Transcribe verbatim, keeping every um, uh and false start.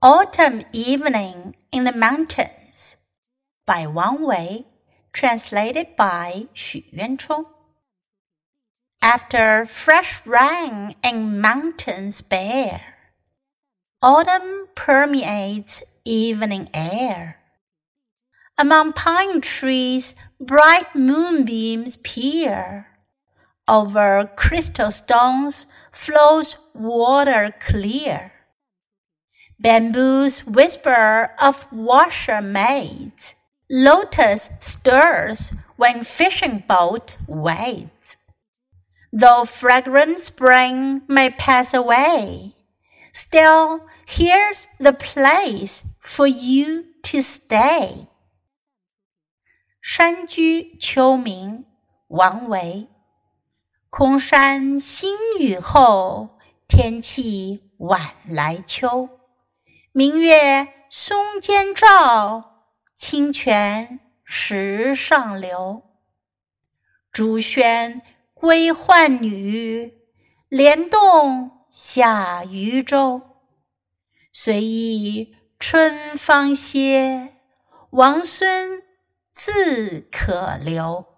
Autumn Evening in the Mountains by Wang Wei, translated by Xu Yuanchong. After fresh rain and mountains bare, autumn permeates evening air. Among pine trees bright moonbeams peer. Over crystal stones flows water clear. Bamboos whisper of washer maids. Lotus stirs when fishing boat waits. Though fragrant spring may pass away, still here's the place for you to stay. 山居秋暝，王维。空山新雨后，天气晚来秋。明月松间照，清泉石上流。朱轩归浣女，莲动下渔舟。随意春芳歇，王孙自可留。